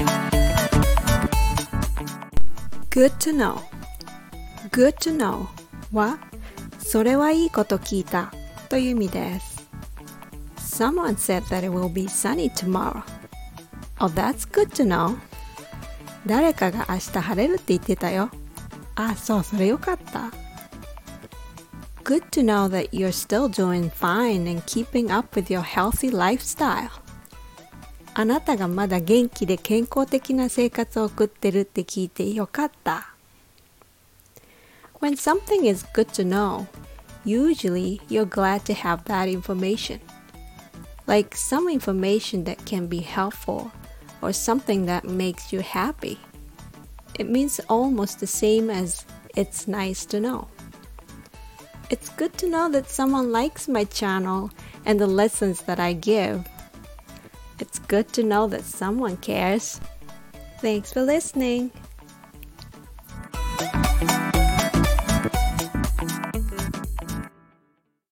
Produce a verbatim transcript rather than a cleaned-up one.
Good to know. Good to know は、それはいいこと聞いたという意味です。Someone said that it will be sunny tomorrow. Oh, that's good to know. 誰かが明日晴れるって言ってたよ。あ、そう、それよかった。Good to know that you're still doing fine and keeping up with your healthy lifestyle. あなたがまだ元気で健康的な生活を送ってるって聞いてよかった。When something is good to know, usually you're glad to have that information. Like some information that can be helpful or something that makes you happy. It means almost the same as it's nice to know. It's good to know that someone likes my channel and the lessons that I give.It's good to know that someone cares. Thanks for listening.